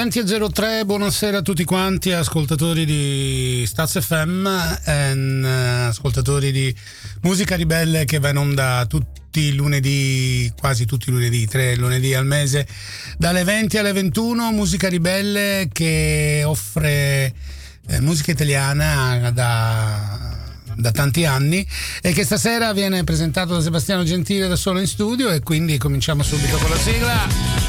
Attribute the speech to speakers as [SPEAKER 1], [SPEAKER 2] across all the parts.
[SPEAKER 1] 20:03, buonasera a tutti quanti, ascoltatori di Staz FM e ascoltatori di Musica Ribelle, che va in onda tutti i lunedì, quasi tutti i lunedì, 3 lunedì al mese, dalle 20 alle 21. Musica Ribelle che offre musica italiana da tanti anni e che stasera viene presentato da Sebastiano Gentile da solo in studio, e quindi cominciamo subito con la sigla.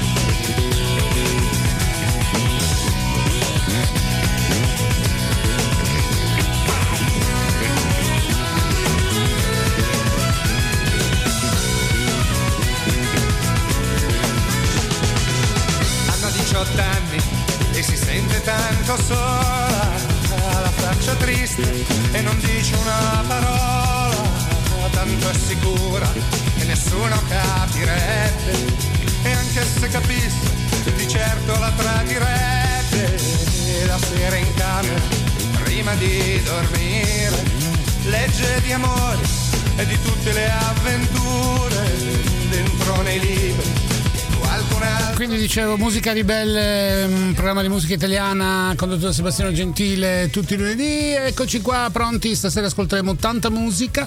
[SPEAKER 2] E si sente tanto sola, la faccia triste e non dice una parola, tanto è sicura che nessuno capirebbe, e anche se capisse di certo la tradirebbe. E la sera in camera prima di dormire legge di amori e di tutte le avventure dentro nei libri.
[SPEAKER 1] Quindi dicevo, Musica Ribelle, un programma di musica italiana condotto da Sebastiano Gentile tutti i lunedì. Eccoci qua pronti, stasera ascolteremo tanta musica,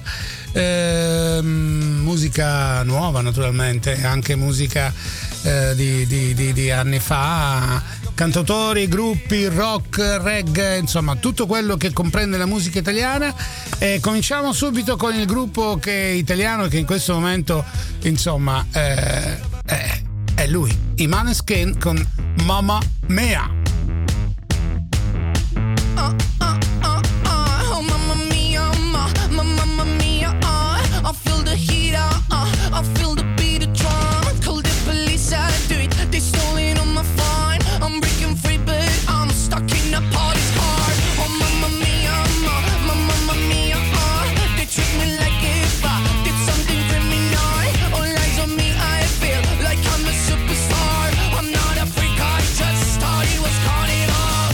[SPEAKER 1] musica nuova naturalmente, anche musica di anni fa, cantautori, gruppi, rock, reggae, insomma tutto quello che comprende la musica italiana. E cominciamo subito con il gruppo che è italiano, che in questo momento insomma è lui, i Maneskin con Mamma Mia.
[SPEAKER 3] Oh mamma mia, mamma mia, I feel the heat, I feel the beat of drum. Call the police, I do it, they stolen on my phone. I'm breaking free but I'm stuck in a party's heart. Oh mamma mia, mamma mia, they treat me like if I did something criminal. All eyes on me, I feel like I'm a superstar. I'm not a freak, I just thought it was caught it all.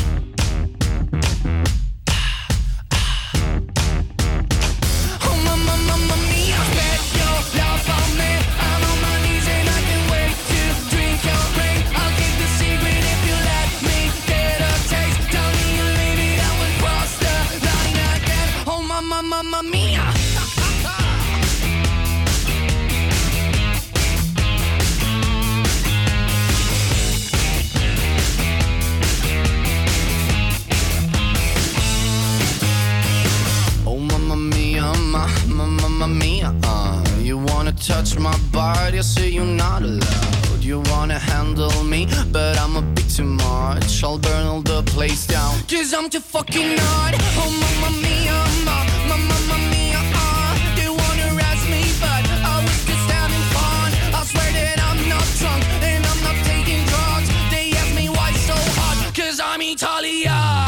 [SPEAKER 3] Oh mamma mia, bet your love on me. I'm on my knees and I can't wait to drink your rain. I'll keep the secret if you let me get a taste. Tell me you leave it, I will cross the line again. Oh mamma mia. Mamma mia, you wanna touch my body, I say you're not allowed. You wanna handle me, but I'm a bit too much. I'll burn all the place down, 'cause I'm too fucking hard. Oh mamma mia, mamma mia, they wanna arrest me, but I was just having fun. I swear that I'm not drunk and I'm not taking drugs. They ask me why so hot, 'cause I'm Italiano.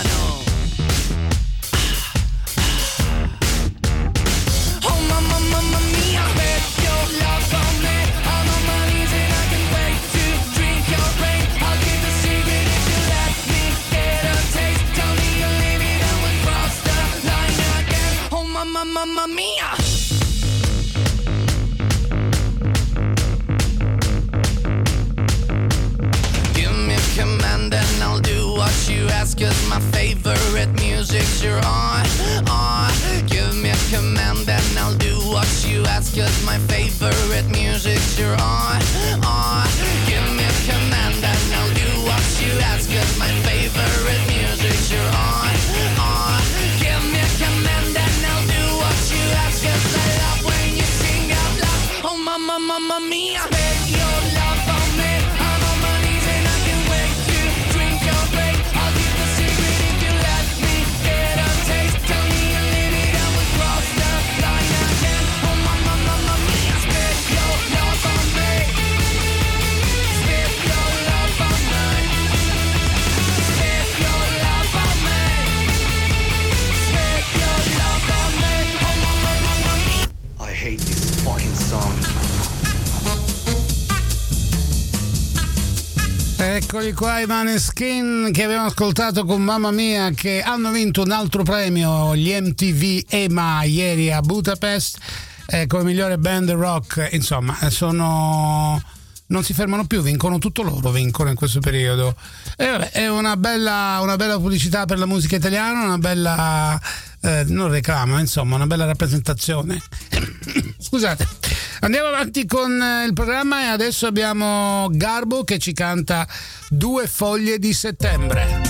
[SPEAKER 3] Mamma mia, bet your love on me. I'm on my knees and I can't wait to drink your rain. I'll keep the secret if you let me get a taste. Tell me you leave it and we'll cross the line again. Oh mamma mia. Give me a command and I'll do what you ask, 'cause my favorite music's you're on. Give me a command and I'll do what you ask, 'cause my favorite music's you're on. Give me a command and I'll do what you ask, 'cause my favorite music's you're on. Give me a command and I'll do what you ask, 'cause I love when you sing out loud. Oh mamma mia, bet your love on me. I'm on my knees and I can't wait to drink your rain. I'll keep the secret if you let me get a taste. Tell me you leave it and we'll cross the line again. Oh mamma mia, spit your love on me. Spit your love on me. Spit your love on me. Spit your love on me. Oh mamma mia.
[SPEAKER 4] I hate this fucking song.
[SPEAKER 1] Eccoli qua i Maneskin che abbiamo ascoltato con Mamma Mia, che hanno vinto un altro premio, gli MTV EMA, ieri a Budapest, come migliore band rock. Insomma, sono non si fermano più, vincono tutto loro, vincono in questo periodo. E vabbè, è una bella pubblicità per la musica italiana, una bella non reclama, insomma, una bella rappresentazione. Scusate, andiamo avanti con il programma e adesso abbiamo Garbo che ci canta 2 foglie di settembre.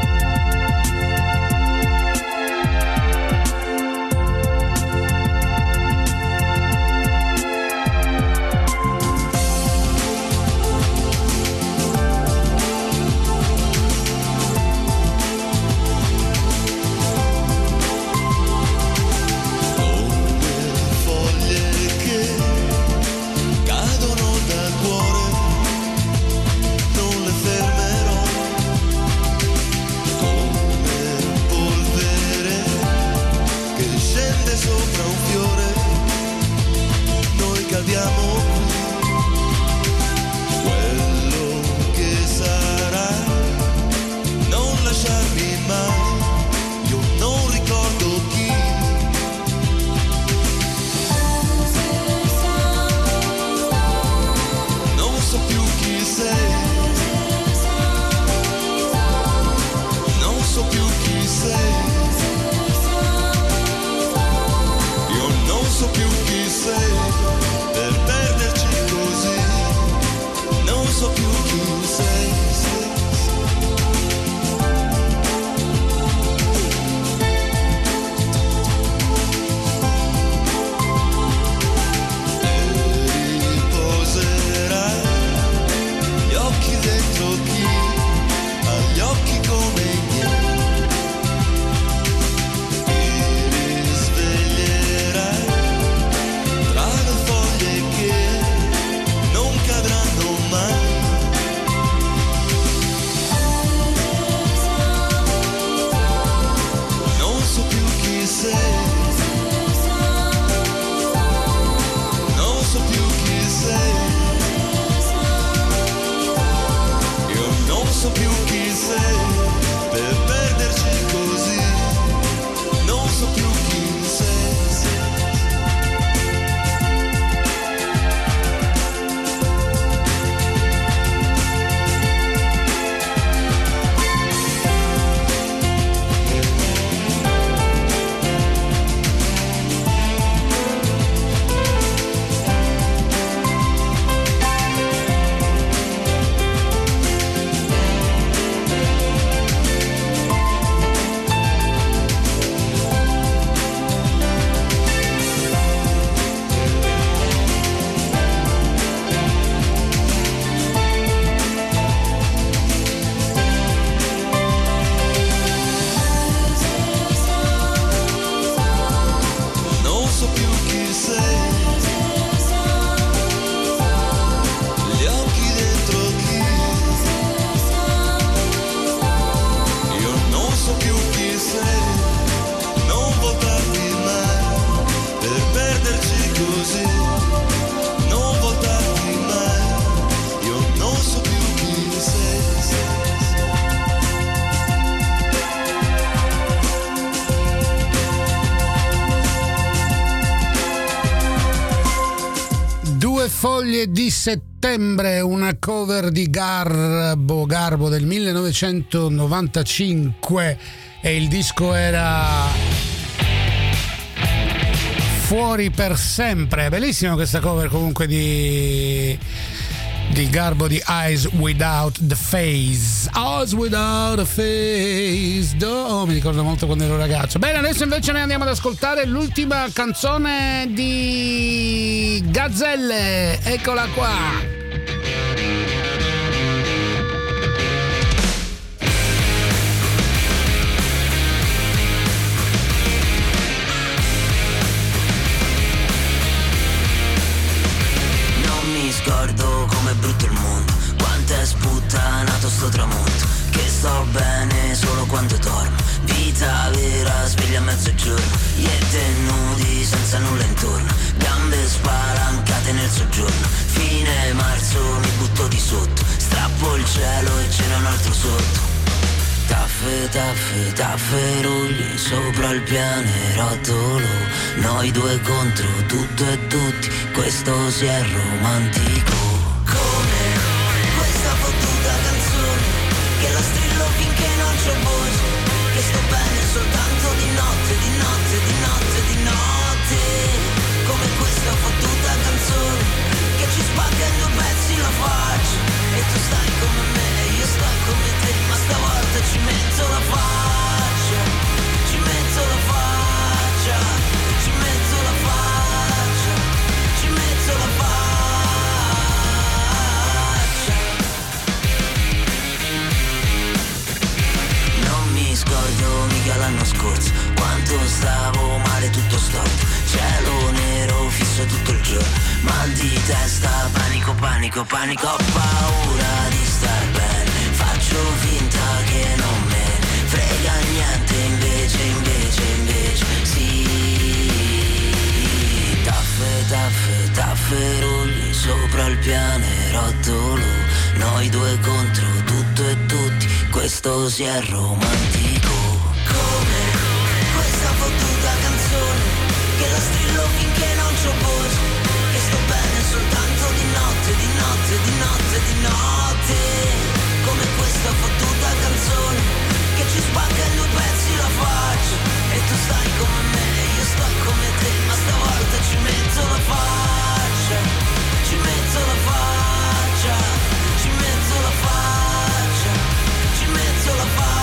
[SPEAKER 1] Foglie di settembre, una cover di Garbo del 1995 e il disco era Fuori per sempre. Bellissima questa cover comunque di Garbo di Eyes Without the Face. Eyes Without a Face. Oh, mi ricordo molto quando ero ragazzo. Bene, adesso invece noi andiamo ad ascoltare l'ultima canzone di Gazzelle. Eccola qua.
[SPEAKER 5] Scordo com'è brutto il mondo, quanto è sputtanato sto tramonto, che sto bene solo quando dormo, vita vera sveglia a mezzogiorno, io e te nudi senza nulla intorno, gambe spalancate nel soggiorno, fine marzo mi butto di sotto, strappo il cielo e c'era un altro sotto. Taffe, taffe, tafferugli sopra il pianerottolo, noi due contro tutto e tutti, questo si è romantico. Come c'ho voce, che sto bene soltanto di notte, di notte, di notte, di notte. Come questa fottuta canzone che ci spacca in due pezzi la faccia. E tu stai come me e io sto come te, ma stavolta ci metto la faccia, ci metto la faccia, ci metto la faccia, ci metto la faccia. Non mi scordo mica l'anno scorso, quanto stavo male tutto storto, cielo nero fisso tutto il giorno, mal di testa, panico, panico, panico, ho paura di star bene, faccio finta che non me ne frega niente, invece, invece, invece, sì. Taffe, taffe, tafferugli sopra il pianerottolo, noi due contro tutto e tutti, questo si è romantico. Come questa fottuta canzone che la strillo finché non c'ho voce, che sto bene soltanto di notte, di notte, di notte, di notte. Come questa fottuta canzone che ci spacca in due pezzi la faccia. E tu stai come me e io sto come te, ma stavolta ci metto la faccia, ci metto la faccia, ci metto la faccia, ci metto la faccia.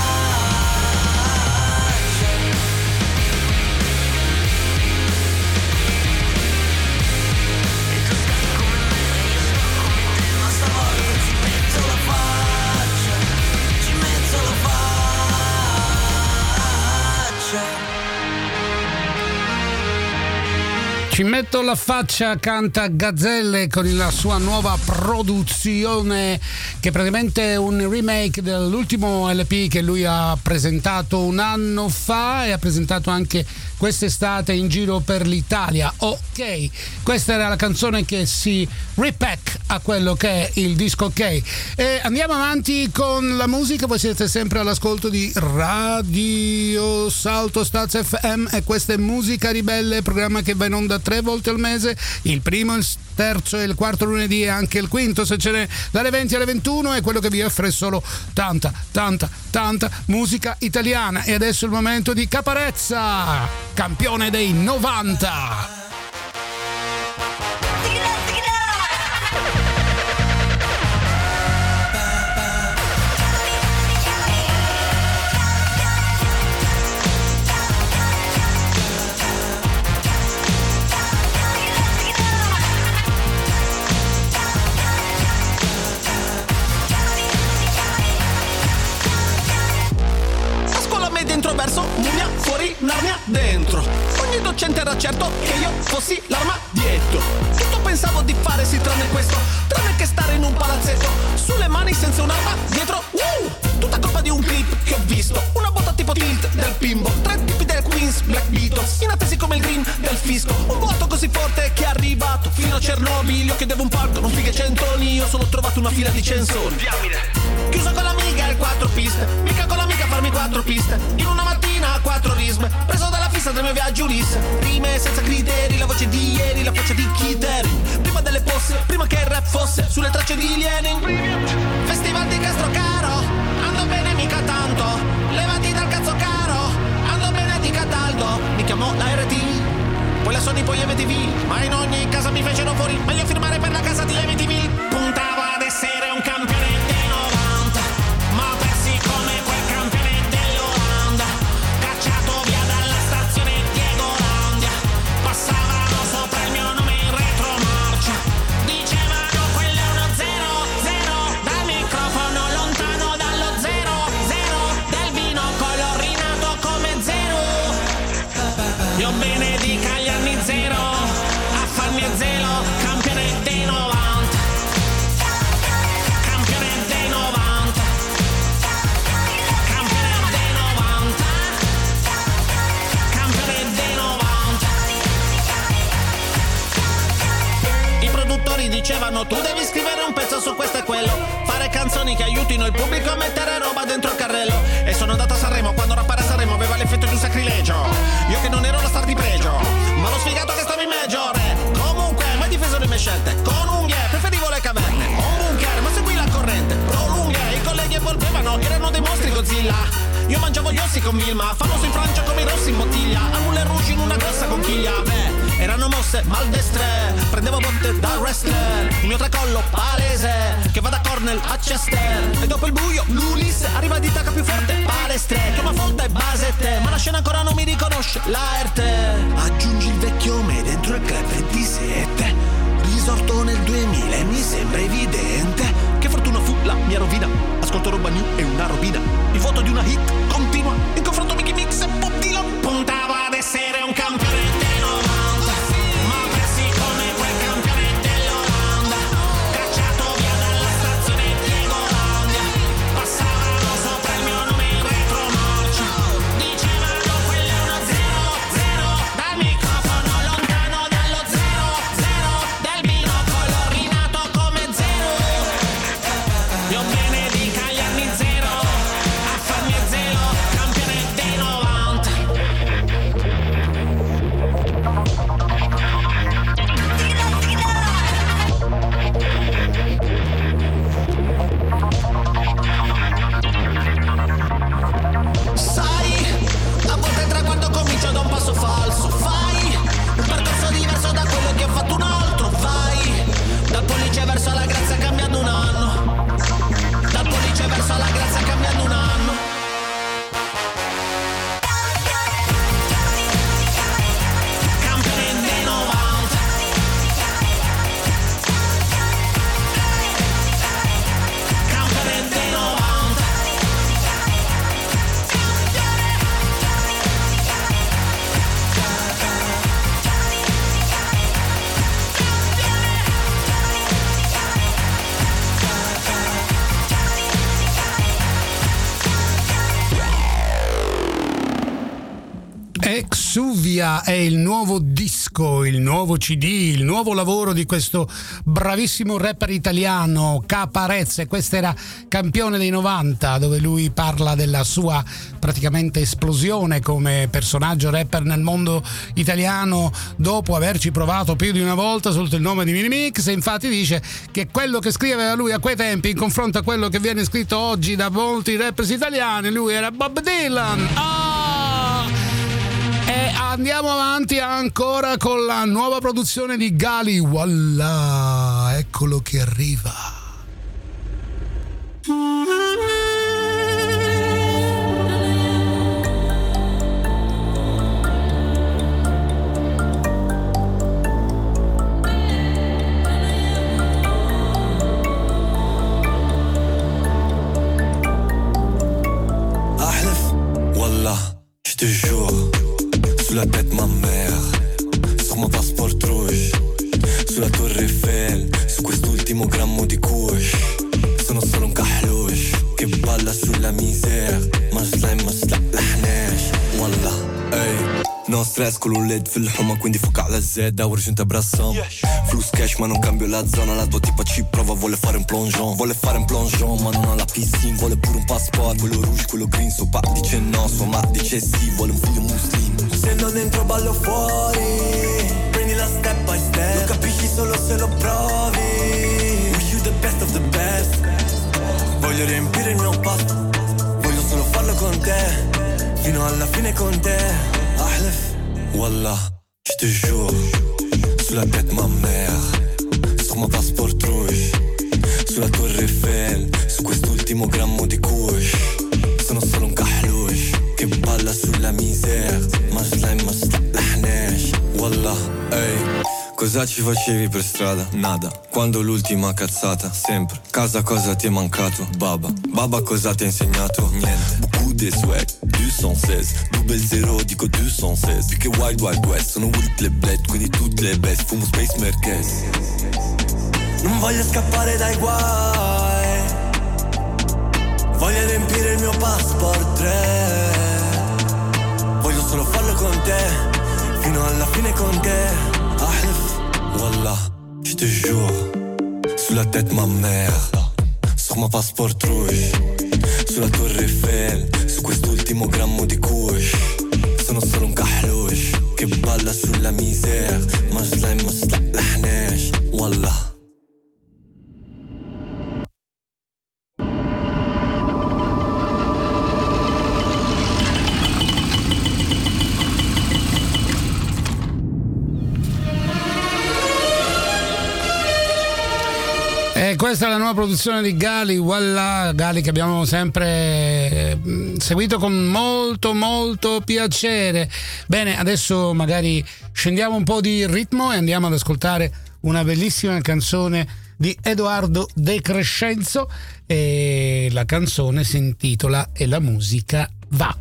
[SPEAKER 1] Ci metto la faccia, canta Gazzelle con la sua nuova produzione, che praticamente è un remake dell'ultimo LP che lui ha presentato un anno fa e ha presentato anche quest'estate in giro per l'Italia. Ok, questa era la canzone che si repack a quello che è il disco Ok. E andiamo avanti con la musica, voi siete sempre all'ascolto di Radio Salto Staz FM e questa è Musica Ribelle, programma che va in onda 3 volte al mese, il primo, il terzo e il quarto lunedì e anche il quinto se ce n'è, dalle 20 alle 21, è quello che vi offre solo tanta musica italiana. E adesso è il momento di Caparezza, campione dei 90.
[SPEAKER 6] Dentro verso Mumia, fuori Narnia, dentro. Ogni docente era certo che io fossi l'arma dietro. Tutto pensavo di fare sì tranne questo, tranne che stare in un palazzetto sulle mani senza un'arma dietro. Tutta colpa di un clip che ho visto, una botta tipo tilt del Pimbo, 3 tipi del Queens, Black Beatles, inattesi come il green del fisco. Un vuoto così forte che è arrivato fino a Chernobyl. Io chiedevo un palco, non fighe 100, io solo ho trovato una fila di censori. Chiuso con l'amica e 4 piste, mica con l'amica farmi 4 piste. In una mattina 4 risme, preso dalla fissa del mio viaggio Ulisse. Rime senza criteri, la voce di ieri, la faccia di Kid Haring. Prima delle posse, prima che il rap fosse sulle tracce di Lenin. Festival di Castrocaro, ando bene mica tanto. Levati dal cazzo caro, ando bene di Cataldo. Mi chiamò la RT, poi la Sony, poi MTV. Ma in ogni casa mi fecero fuori, meglio firmare per la casa di MTV. Puntavo ad essere un campione dei 90, ma persi come quel campione dell'Olanda. Cacciato via dalla stazione Diegolandia, passavano sopra il mio nome in retromarcia. Dicevano quello è uno 0-0, dal microfono lontano dallo 0-0, del vino colorinato come zero. Io bene dica agli anni 0, a farmi e zelo, campione dei 90. Dicevano tu devi scrivere un pezzo su questo e quello, fare canzoni che aiutino il pubblico a mettere roba dentro il carrello. E sono andato a Sanremo quando rappare a Sanremo aveva l'effetto di un sacrilegio. Io che non ero la star di pregio, ma lo sfigato che stavo in major. Comunque mai difeso le mie scelte, con unghie preferivo le caverne. Ho un bunker ma seguì la corrente, pro lunghe i colleghi evolvevano, erano dei mostri Godzilla. villa. Io mangiavo gli ossi con Vilma, famoso in Francia come i rossi in bottiglia. Al Moulin Rouge in una grossa conchiglia. Beh, erano mosse maldestre, prendevo botte da wrestler. Il mio tracollo palese, che va da Cornell a Chester. E dopo il buio l'Ulisse arriva di tacca più forte, palestre. Chiama Folta e Basette, ma la scena ancora non mi riconosce l'arte. Aggiungi il vecchio me dentro il club di 7. Risorto nel 2000 e mi sembra evidente che fortuna fu la mia rovina. Ascolto roba new e una robina. Il voto di una hit continua in confronto Mickey Mix e Bob Dylan. Puntava ad essere un campione dei 90, ma persi come quel campione dell'80. Cacciato via dalla stazione Diego Landia. Passavano sopra il mio nome in retromorcia. Dicevano quello è uno 0-0. Dal microfono lontano dallo 0-0. Del binocolo rinato come zero. Io benedica gli anni zero a farmi zero, campione dei 90. Sai, a volte il traguardo comincia da un passo falso. Fai un percorso diverso da quello che ha fatto un altro. Vai dal pollice verso la grazia cambiando un anno. Dal pollice verso la grazia cambiando un anno. Campione dei 90. Campione dei 90.
[SPEAKER 1] Exuvia è il nuovo disco, il nuovo CD, il nuovo lavoro di questo bravissimo rapper italiano Caparezza. Questa era Campione dei 90, dove lui parla della sua praticamente esplosione come personaggio rapper nel mondo italiano dopo averci provato più di una volta sotto il nome di Minimix. E infatti dice che quello che scriveva lui a quei tempi in confronto a quello che viene scritto oggi da molti rappers italiani, lui era Bob Dylan. E andiamo avanti ancora con la nuova produzione di Gali. Voilà, eccolo che arriva.
[SPEAKER 7] أحلف والله je te jure. Sous la tête ma mère, sur mon passeport rouge, sulla Torre Eiffel, su quest'ultimo grammo di kush. Sono solo un kahloush che balla sulla misère. ما slime ما slaqlaħnax والله اي. No stress con un LED fil-ħuma, quindi foca alla Z, ورج انت brassam. Flus cash ma non cambio la zona, la tua tipa ci prova, vuole fare un plongeon. Vuole fare un plongeon ma non ha la piscina. Vuole pure un passport, quello rouge, quello green. Suo pa dice no, sua ma dice sì. Vuole un figlio muslim. Se non entro ballo fuori, prendi la step by step. Lo capisci solo se lo provi. Wish you the best of the best. Voglio riempire il mio pasto, voglio solo farlo con te, fino alla fine con te. Ahlef, wallah, je te jure. Sulla tête ma mère, sur mon passeport rouge, sulla Torre Eiffel, su quest'ultimo grammo di kush. Sono solo un kahloush che balla sulla misère. Ma slime ma slaqlaħnax wallah, ehi. Cosa ci facevi per strada? Nada. Quando l'ultima cazzata? Sempre. Casa cosa ti è mancato? Baba. Baba cosa ti ha insegnato? Niente. Beaucoup de swag, 216. Double zero, dico 216. Più che Wild Wild West. Sono Wild le bled, quindi tutte le best. Fumo Space Merkez. Non voglio scappare dai guai, voglio riempire il mio passport 3. Voglio solo farlo con te, fino alla fine con te. Ahlef, wallah, je te jure. Sulla tête ma mère, sur mon passeport rouge, sulla Torre Eiffel, su quest'ultimo grammo di kush. Sono solo un kahloush che balla sulla misère. Ma slime ma slaqlaħnax wallah.
[SPEAKER 1] questa è la nuova produzione di Gali, voilà, Gali che abbiamo sempre seguito con molto piacere. Bene, adesso magari scendiamo un po' di ritmo e andiamo ad ascoltare una bellissima canzone di Edoardo De Crescenzo e la canzone si intitola E la musica va.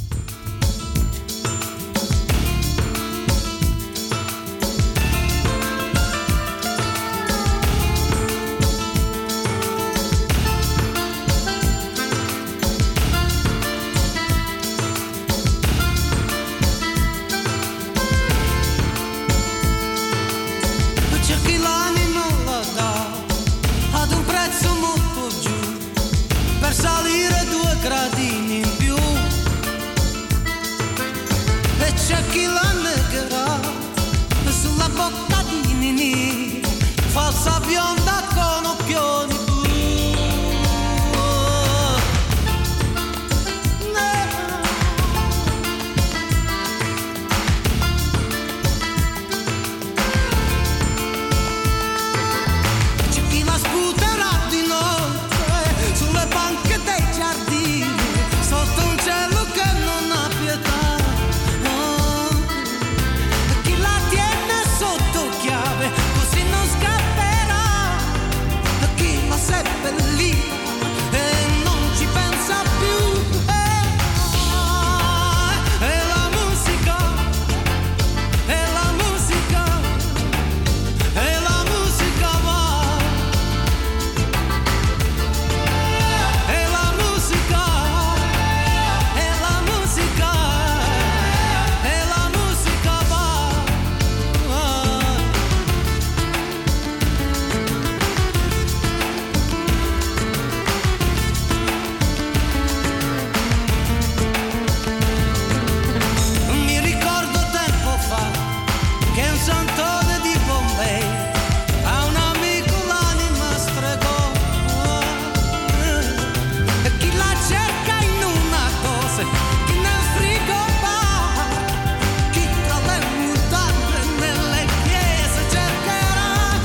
[SPEAKER 8] Falsa bionda con occhioni blu. C'è chi la sputerà di notte sulle banche dei giardini, sotto un cielo che non ha pietà. Chi la tiene sotto chiave così non scapperà. Chi la seppellita e non ci pensa più. E la musica, e la musica, e la musica va. E la musica, e la musica, e la musica va. Mi ricordo tempo fa che un santone di Bombay a un amico l'anima stregò. E chi la cerca in una dose, chi nel frigobar, chi tra le mutande nelle chiese cercherà.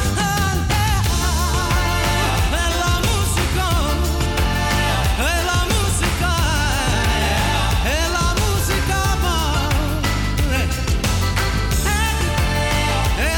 [SPEAKER 8] E la musica, e la musica, e la musica va. E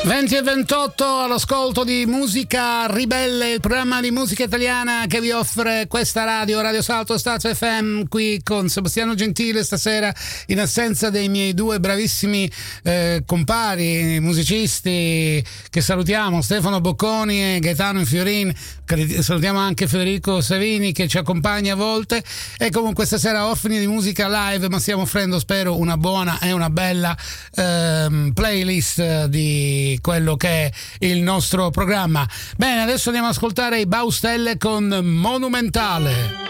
[SPEAKER 1] 20:28 all'ascolto di Musica Ribelle, il programma di musica italiana che vi offre questa Radio Salto Staz FM, qui con Sebastiano Gentile stasera in assenza dei miei due bravissimi compari musicisti che salutiamo, Stefano Bocconi e Gaetano Infiorin. Salutiamo anche Federico Savini che ci accompagna a volte, e comunque stasera orfani di musica live, ma stiamo offrendo, spero, una buona e una bella playlist di quello che è il nostro programma. Bene, adesso andiamo ad ascoltare i Baustelle con Monumentale.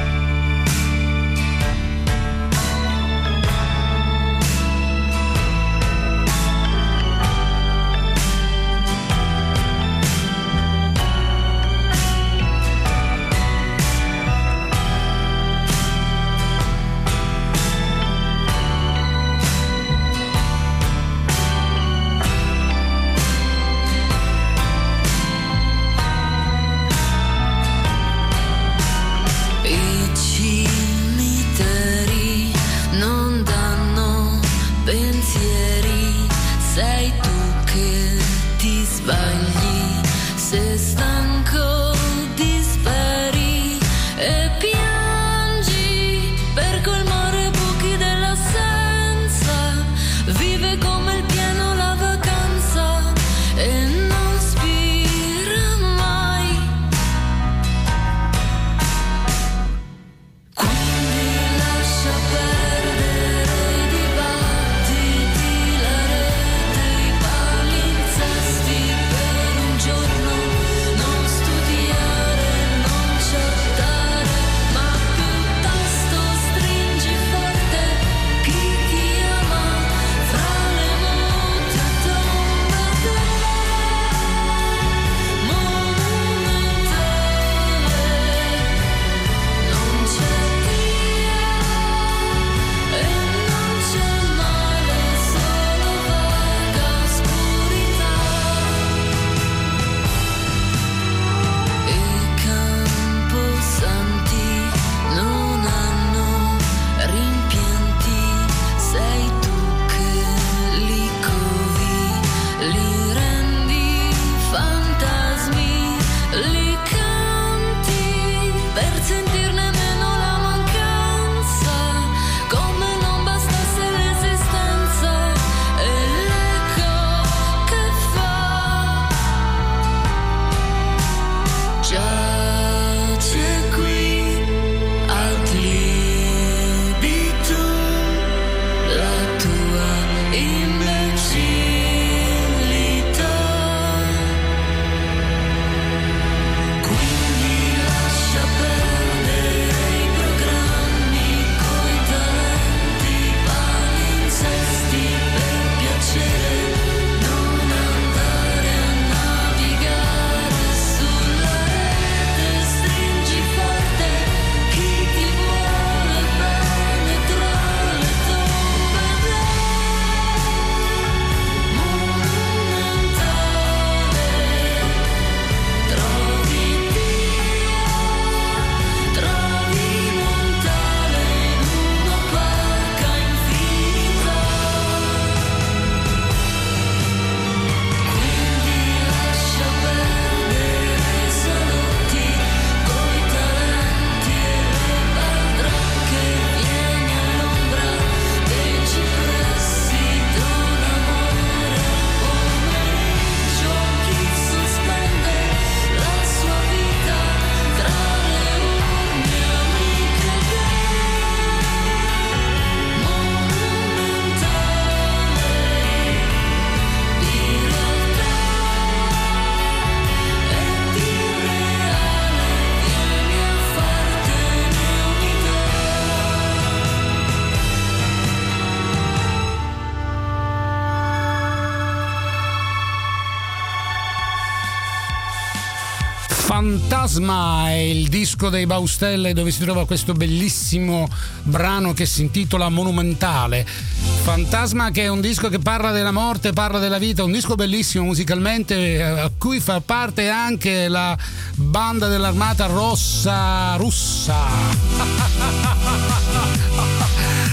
[SPEAKER 1] Fantasma è il disco dei Baustelle, dove si trova questo bellissimo brano che si intitola Monumentale. Fantasma, che è un disco che parla della morte, parla della vita, un disco bellissimo musicalmente, a cui fa parte anche la banda dell'Armata Rossa russa.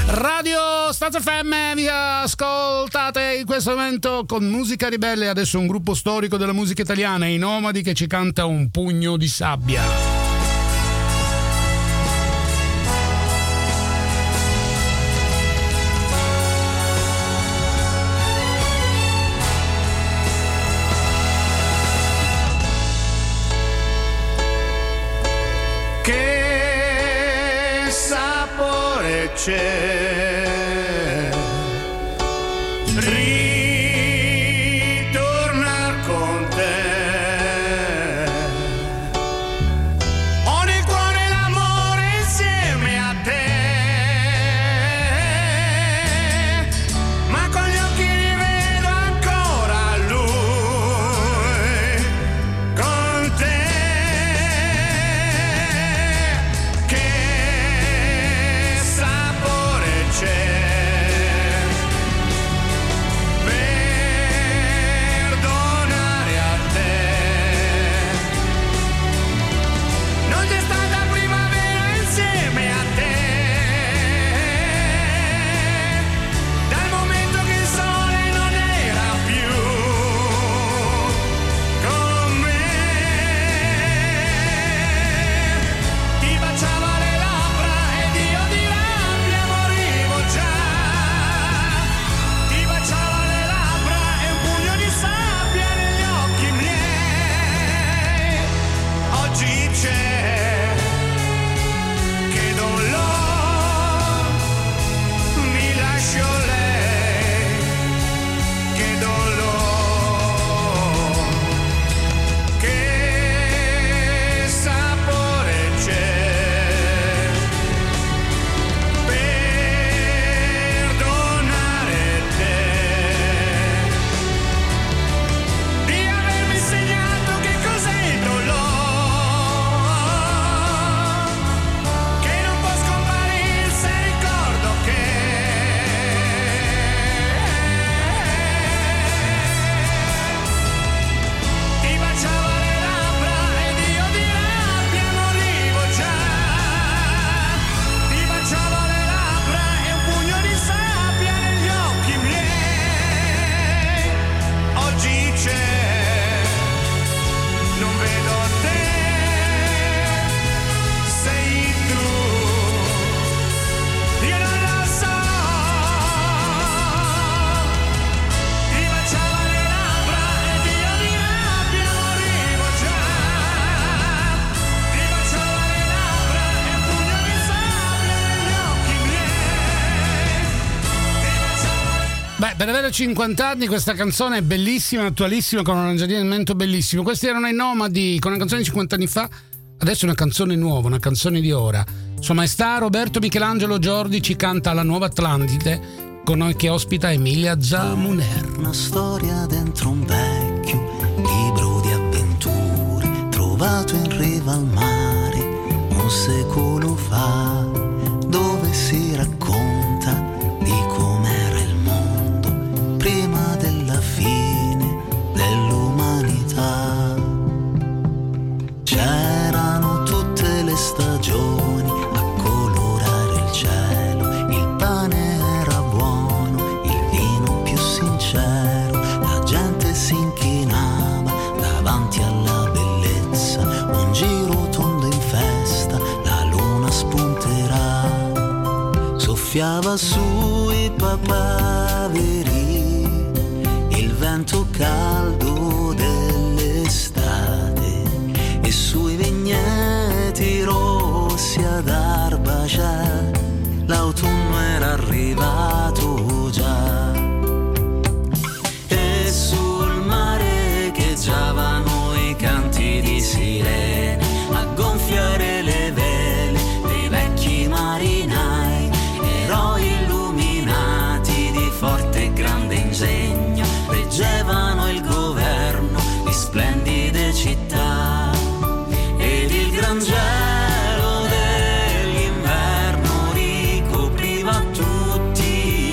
[SPEAKER 1] Radio Stazza FM, vi ascoltate in questo momento con Musica Ribelle. Adesso un gruppo storico della musica italiana, i Nomadi, che ci canta Un pugno di sabbia.
[SPEAKER 2] Che sapore c'è ritornar con te, ho nel cuore l'amore insieme a te, ma con gli occhi rivedo ancora lui con te.
[SPEAKER 1] Per avere 50 anni questa canzone è bellissima, attualissima, con un arrangiamento bellissimo. Questi erano i Nomadi con una canzone di 50 anni fa, adesso è una canzone nuova, una canzone di ora. Sua Maestà Roberto Michelangelo Giordi ci canta La Nuova Atlantide, con noi che ospita Emilia Zamuner.
[SPEAKER 9] Una storia dentro un vecchio libro di avventure trovato in riva al mare un secolo fa, dove si racconta di com'era il mondo prima della fine dell'umanità. C'erano tutte le stagioni a colorare il cielo, il pane era buono, il vino più sincero, la gente si inchinava davanti alla bellezza, un giro tondo in festa, la luna spunterà, soffiava sui papaveri il vento caldo dell'estate e sui vigneti rossi ad Arbacia l'autunno era arrivato già, e sul mare echeggiavano i canti di sirene a gonfiare le vele dei vecchi marinai, eroi illuminati di forte e grande ingegno, reggevano il governo di splendide città, ed il gran gelo dell'inverno ricopriva tutti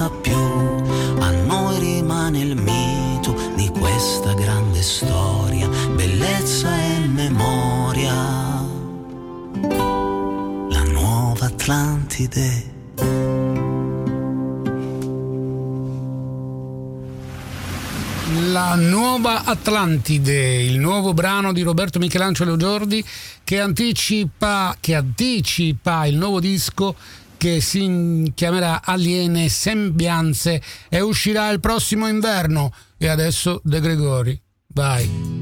[SPEAKER 9] basta più, a noi rimane il mito di questa grande storia, bellezza e memoria, la nuova Atlantide.
[SPEAKER 1] La nuova Atlantide, il nuovo brano di Roberto Michelangelo Giordi che anticipa il nuovo disco che si chiamerà Aliene Sembianze e uscirà il prossimo inverno. E adesso De Gregori, vai.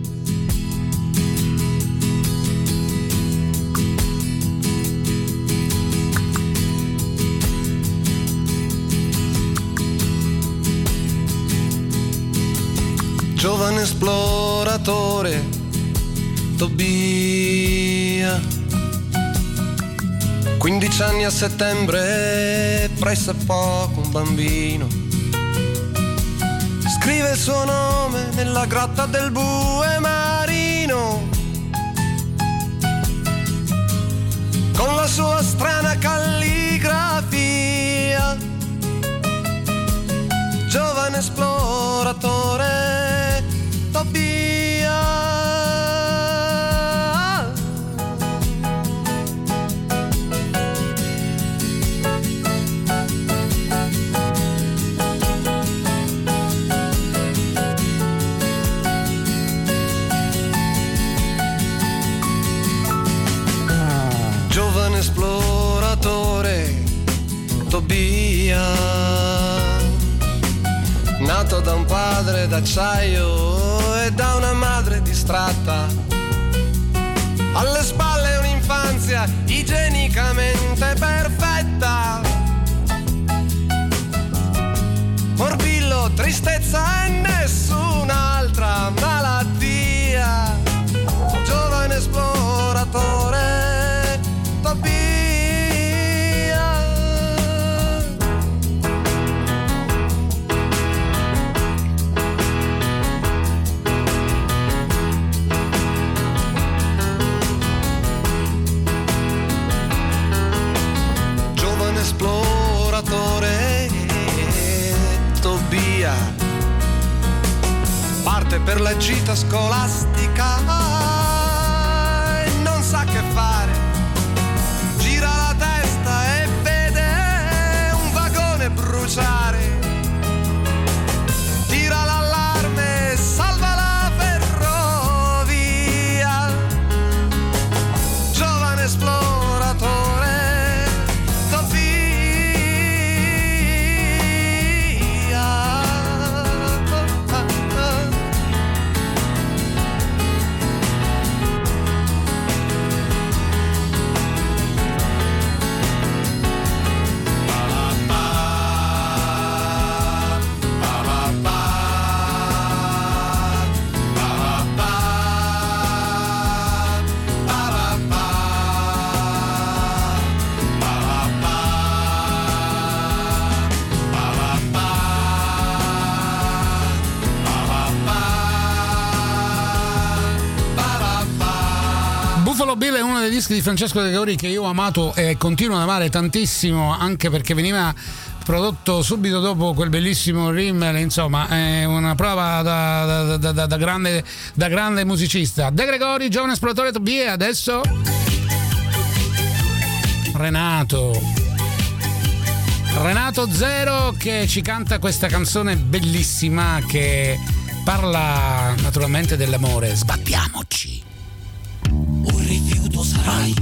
[SPEAKER 10] Giovane esploratore, Tobia, 15 anni a settembre, presso poco un bambino. Scrive il suo nome nella grotta del bue marino, con la sua strana calligrafia. Giovane esploratore, Tobia. Giovane esploratore, Tobia. Nato da un padre d'acciaio e da una madre distratta, alle spalle un'infanzia igienicamente perfetta. Morbillo, tristezza e nessun'altra malattia. Giovane esploratore, Tobia. Esploratore, Tobia parte per la gita scolastica e non sa che fare, gira la testa e vede un vagone bruciare, tira l'allarme e salva la ferrovia. Giovane esploratore,
[SPEAKER 1] Bill è uno dei dischi di Francesco De Gregori che io ho amato e continuo ad amare tantissimo, anche perché veniva prodotto subito dopo quel bellissimo Rimmel, insomma è una prova da grande musicista. De Gregori, giovane esploratore, Tobia. E adesso Renato Zero che ci canta questa canzone bellissima che parla naturalmente dell'amore. Sbattiamoci.
[SPEAKER 11] Un rifiuto sarai,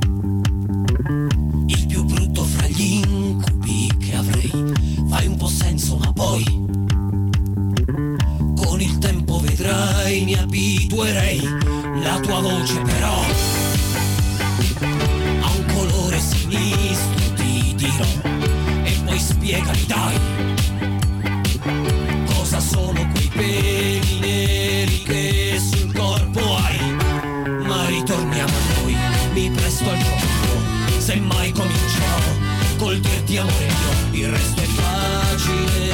[SPEAKER 11] il più brutto fra gli incubi che avrei. Fai un po' senso ma poi con il tempo vedrai, mi abituerei. La tua voce però ha un colore sinistro, ti dirò, e poi spiegami dai cosa sono quei peli neri che sul corpo hai. Ma ritorniamo a noi, mi presto al gioco, semmai comincerò col dirti amore mio, il resto è facile.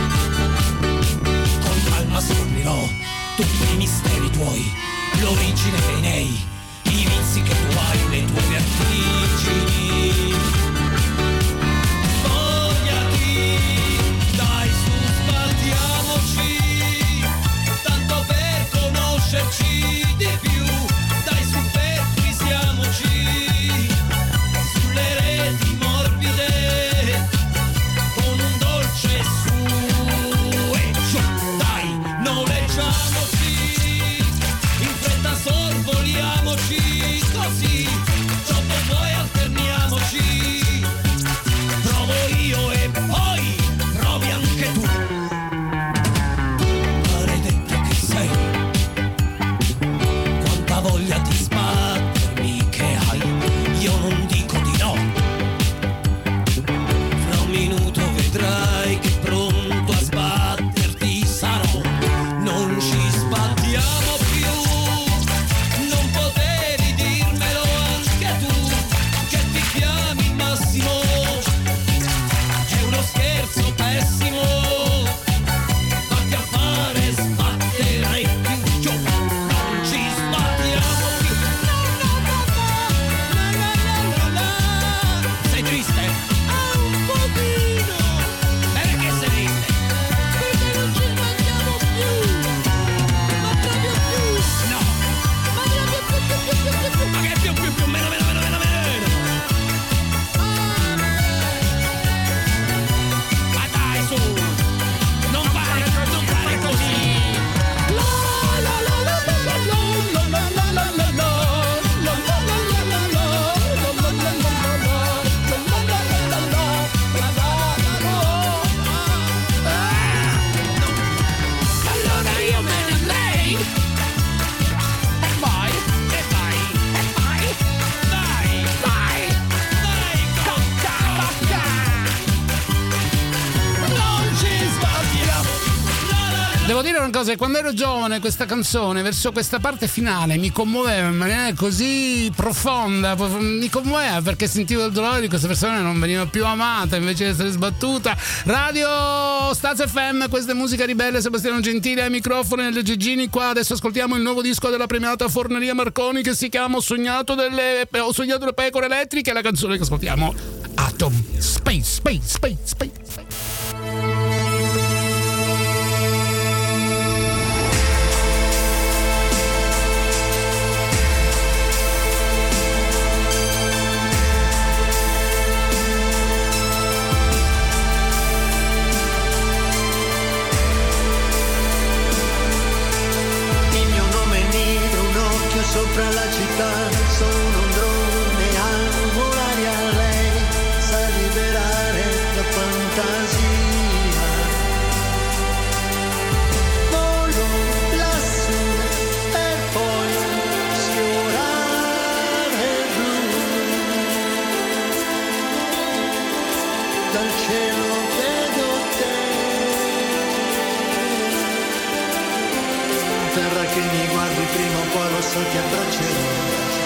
[SPEAKER 11] Con calma scoprirò tutti i misteri tuoi, l'origine dei nei, i vizi che tu hai, le tue vertigini. Spogliati
[SPEAKER 1] Devo dire una cosa, quando ero giovane questa canzone, verso questa parte finale, mi commuoveva in maniera così profonda, mi commuoveva perché sentivo il dolore di questa persona che non veniva più amata invece di essere sbattuta. Radio Staz FM, questa è Musica Ribelle, Sebastiano Gentile ai microfoni, nelle Gigini qua. Adesso ascoltiamo il nuovo disco della premiata Forneria Marconi che si chiama Ho sognato le pecore elettriche, la canzone che ascoltiamo Atom. Space.
[SPEAKER 12] Sopra la città sono un drone a volare a lei, sa liberare la fantasia. Volo lassù e poi sfiorare il blu. Dal cielo vedo te, terra che mi guardi prima o poi lo so ti abbraccerò.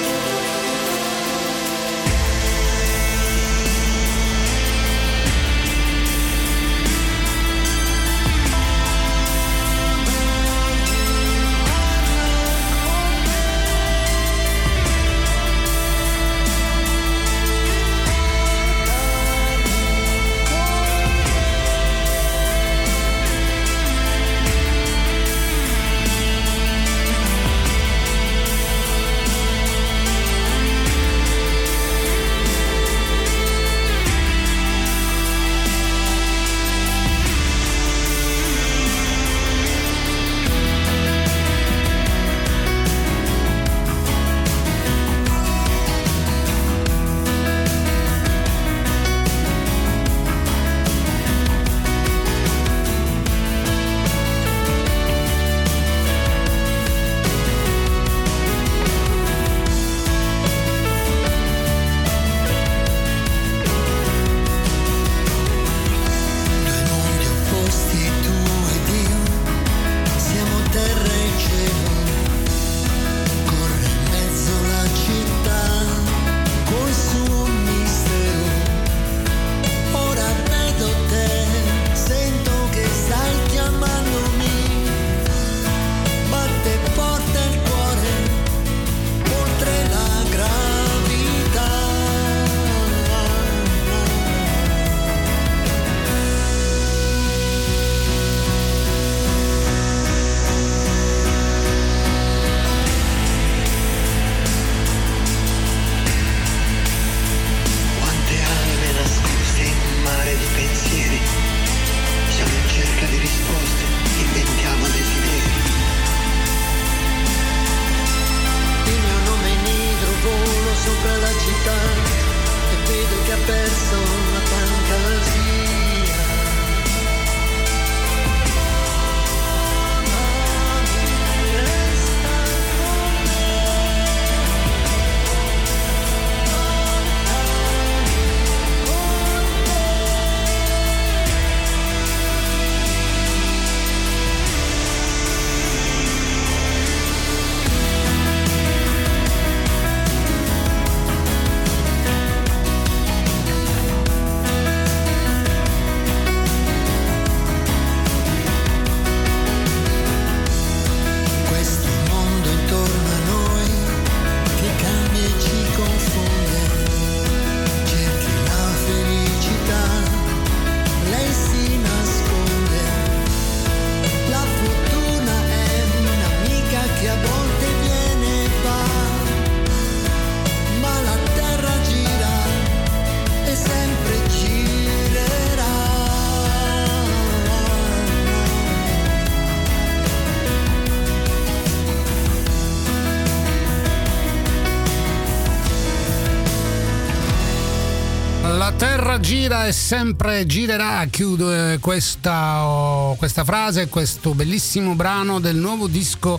[SPEAKER 1] La terra gira e sempre girerà, chiudo questa frase, questo bellissimo brano del nuovo disco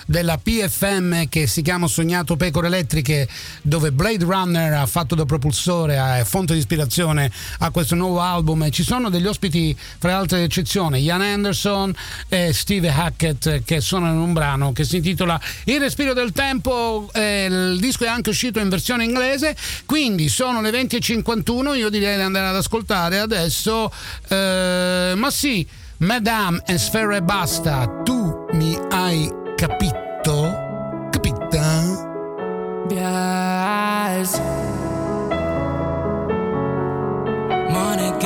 [SPEAKER 1] della PFM che si chiama Sognato Pecore Elettriche, dove Blade Runner ha fatto da propulsore, è fonte di ispirazione a questo nuovo album, e ci sono degli ospiti fra le altre eccezioni, Ian Anderson e Steve Hackett, che suonano in un brano che si intitola Il respiro del tempo. Il disco è anche uscito in versione inglese, quindi sono le 20:51, io direi di andare ad ascoltare adesso ma sì, Madame e Sfera Ebbasta, tu mi hai capito? Capita?
[SPEAKER 13] Yes. Money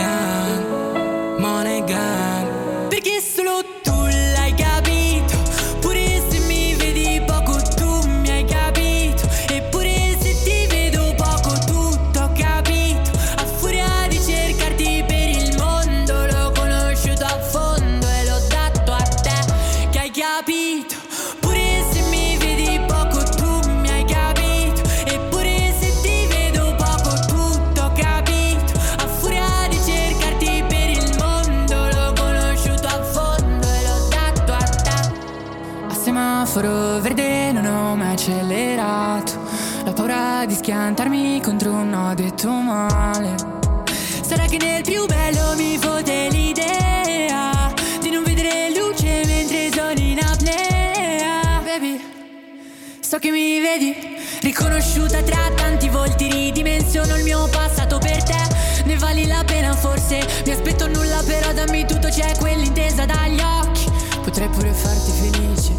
[SPEAKER 13] gang, perché solo tu l'hai capito, pure se mi vedi poco tu mi hai capito, eppure se ti vedo poco tutto ho capito, a furia di cercarti per il mondo l'ho conosciuto a fondo e l'ho dato a te che hai capito, pure se mi vedi poco tu mi hai capito, eppure se ti vedo poco tutto ho capito, a furia di cercarti per il mondo l'ho conosciuto a fondo e l'ho dato a te. A semaforo verde non ho mai accelerato, la paura di schiantarmi contro un no detto male. Sarà che nel più bello mi fotte l'idea di non vedere luce mentre sono in apnea. Baby, so che mi vedi, riconosciuta tra tanti volti, ridimensiono il mio passato per te. Ne vali la pena forse, mi aspetto nulla però dammi tutto, c'è quell'intesa dagli occhi, potrei pure farti felice,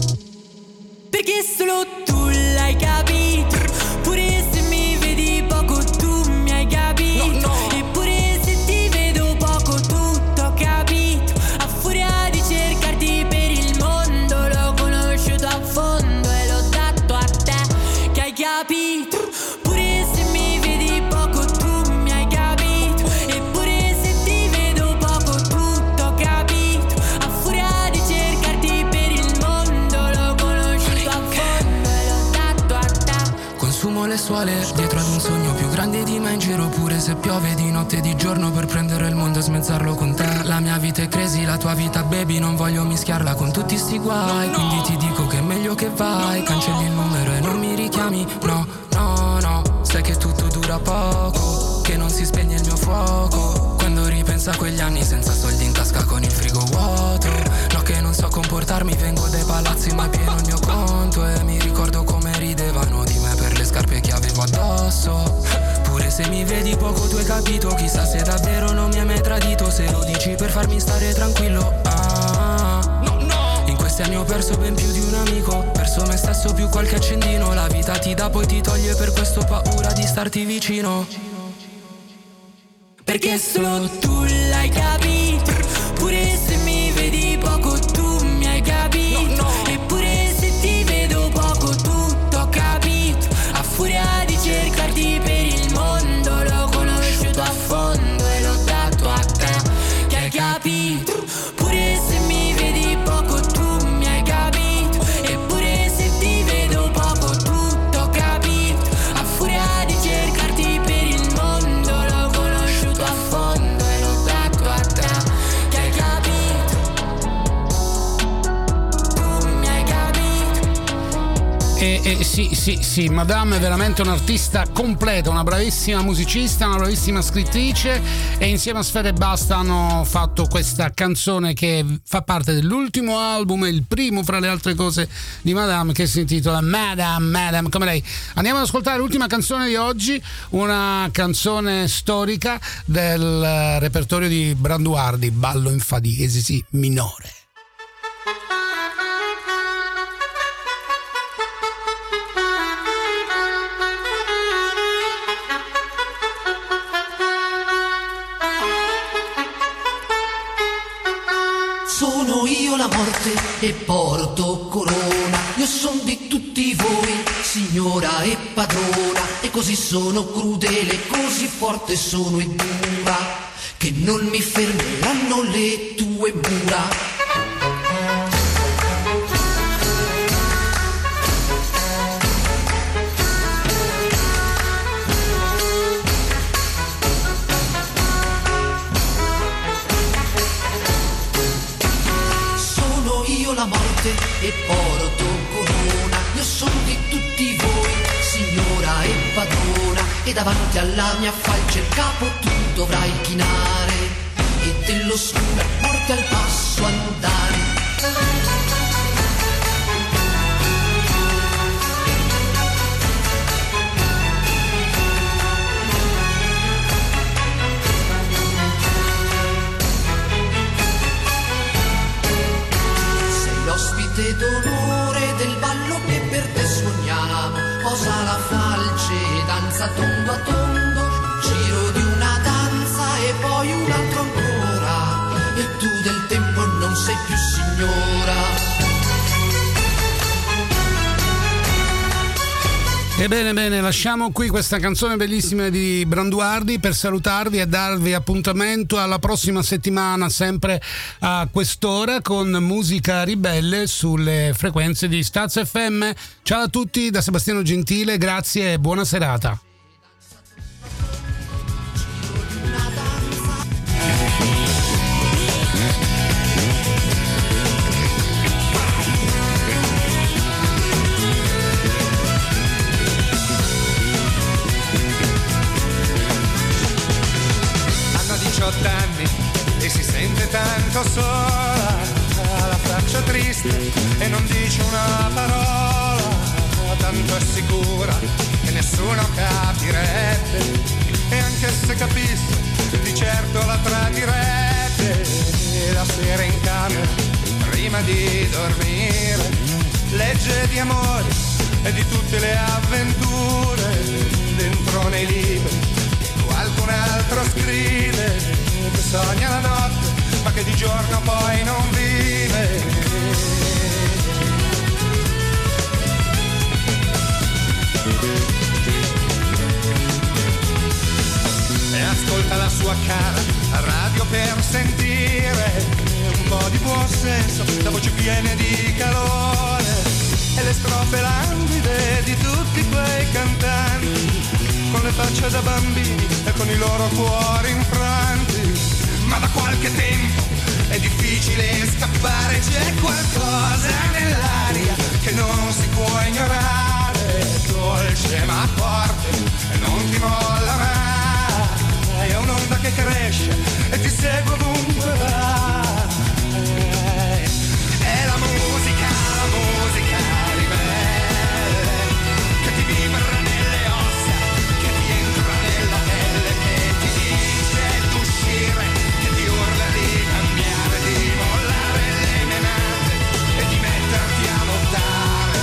[SPEAKER 13] perché solo tu l'hai capito, pure se mi vedi poco tu mi hai capito, eppure se ti vedo poco tutto ho capito, a furia di cercarti per il mondo l'ho conosciuto a fondo e l'ho dato a te che hai capito, pure se mi vedi poco tu mi hai capito, eppure se ti vedo poco tutto ho capito, a furia di cercarti per il mondo l'ho conosciuto a fondo e l'ho dato a te.
[SPEAKER 11] Consumo le suole dietro ad un sogno più grande di me, in giro pure se piove di notte e di giorno per prendere il mondo e smezzarlo con te. La mia vita è crazy, la tua vita baby, non voglio mischiarla con tutti sti guai, quindi ti dico che è meglio che vai, cancelli il numero e non mi richiami, no, sai che tutto dura poco, che non si spegne il mio fuoco, quando ripenso a quegli anni senza soldi in tasca con il frigo vuoto, no che non so comportarmi, vengo dai palazzi ma è pieno il mio conto, e mi ricordo come ridevano di me per le scarpe che avevo addosso, pure se mi vedi poco tu hai capito, chissà se davvero non mi hai mai tradito, se lo dici per farmi stare tranquillo, in questi anni ho perso ben più di un amico, perso me stesso più qualche accendino, la vita ti dà poi ti toglie, per questo ho paura di starti vicino,
[SPEAKER 13] perché solo tu l'hai capito, pure se mi vedi poco tu mi hai capito, eppure se ti vedo poco tutto ho capito, a furia di cercarti per il mondo l'ho conosciuto a fondo e l'ho dato a te che hai capito, pure se mi vedi poco tu mi hai capito, eppure se ti vedo poco tutto ho capito, a furia di cercarti per il mondo l'ho conosciuto a fondo e l'ho dato a te che hai capito, tu mi hai capito.
[SPEAKER 1] Sì, Madame è veramente un'artista completa, una bravissima musicista, una bravissima scrittrice, e insieme a Sfera Ebbasta hanno fatto questa canzone che fa parte dell'ultimo album, il primo fra le altre cose di Madame, che si intitola Madame come lei. Andiamo ad ascoltare l'ultima canzone di oggi, una canzone storica del repertorio di Branduardi, Ballo in fa diesis sì, minore.
[SPEAKER 14] Sono io la morte e porto corona, io son di tutti voi, signora e padrona, e così sono crudele, così forte sono e dura, che non mi fermeranno le tue mura. La morte e e porto corona. Io sono di tutti voi, signora e padrona, e davanti alla mia falce il capo tu dovrai chinare, e dell'oscura morte al passo andare. L'ospite d'onore del ballo che per te suoniamo, posa la falce e danza tondo a tondo, giro di una danza e poi un altro ancora, e tu del tempo non sei più signora.
[SPEAKER 1] Bene, lasciamo qui questa canzone bellissima di Branduardi per salutarvi e darvi appuntamento alla prossima settimana, sempre a quest'ora, con Musica Ribelle sulle frequenze di Staz FM. Ciao a tutti da Sebastiano Gentile, grazie e buona serata.
[SPEAKER 2] Anni e si sente tanto sola, ha la faccia triste e non dice una parola, tanto è sicura che nessuno capirebbe, e anche se capisse di certo la tradirebbe. La sera in camera prima di dormire legge di amore e di tutte le avventure dentro nei libri. Qualcun altro scrive che sogna la notte ma che di giorno poi non vive. E ascolta la sua cara radio per sentire un po' di buon senso, la voce piena di calore e le strofe languide di tutti quei cantanti con le facce da bambini e con i loro cuori infranti. Ma da qualche tempo è difficile scappare, c'è qualcosa nell'aria che non si può ignorare, dolce ma forte e non ti molla mai, è un'onda che cresce e ti segue ovunque vai. È la musica ribelle che ti vibra nelle ossa, che ti entra nella pelle, che ti dice d'uscire, che ti urla di cambiare, di mollare le menate e di metterti a lottare.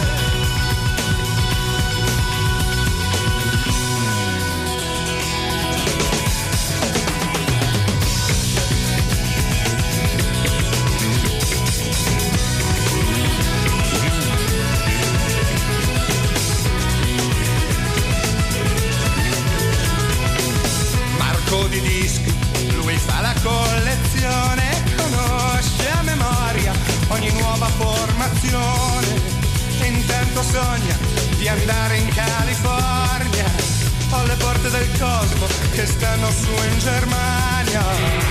[SPEAKER 2] Di dischi, lui fa la collezione, conosce a memoria ogni nuova formazione e intanto sogna di andare in California o alle porte del cosmo che stanno su in Germania.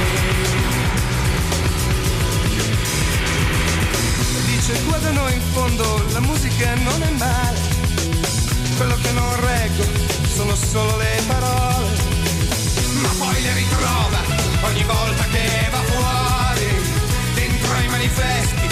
[SPEAKER 2] Dice qua da noi in fondo la musica non è male, quello che non reggo sono solo le parole.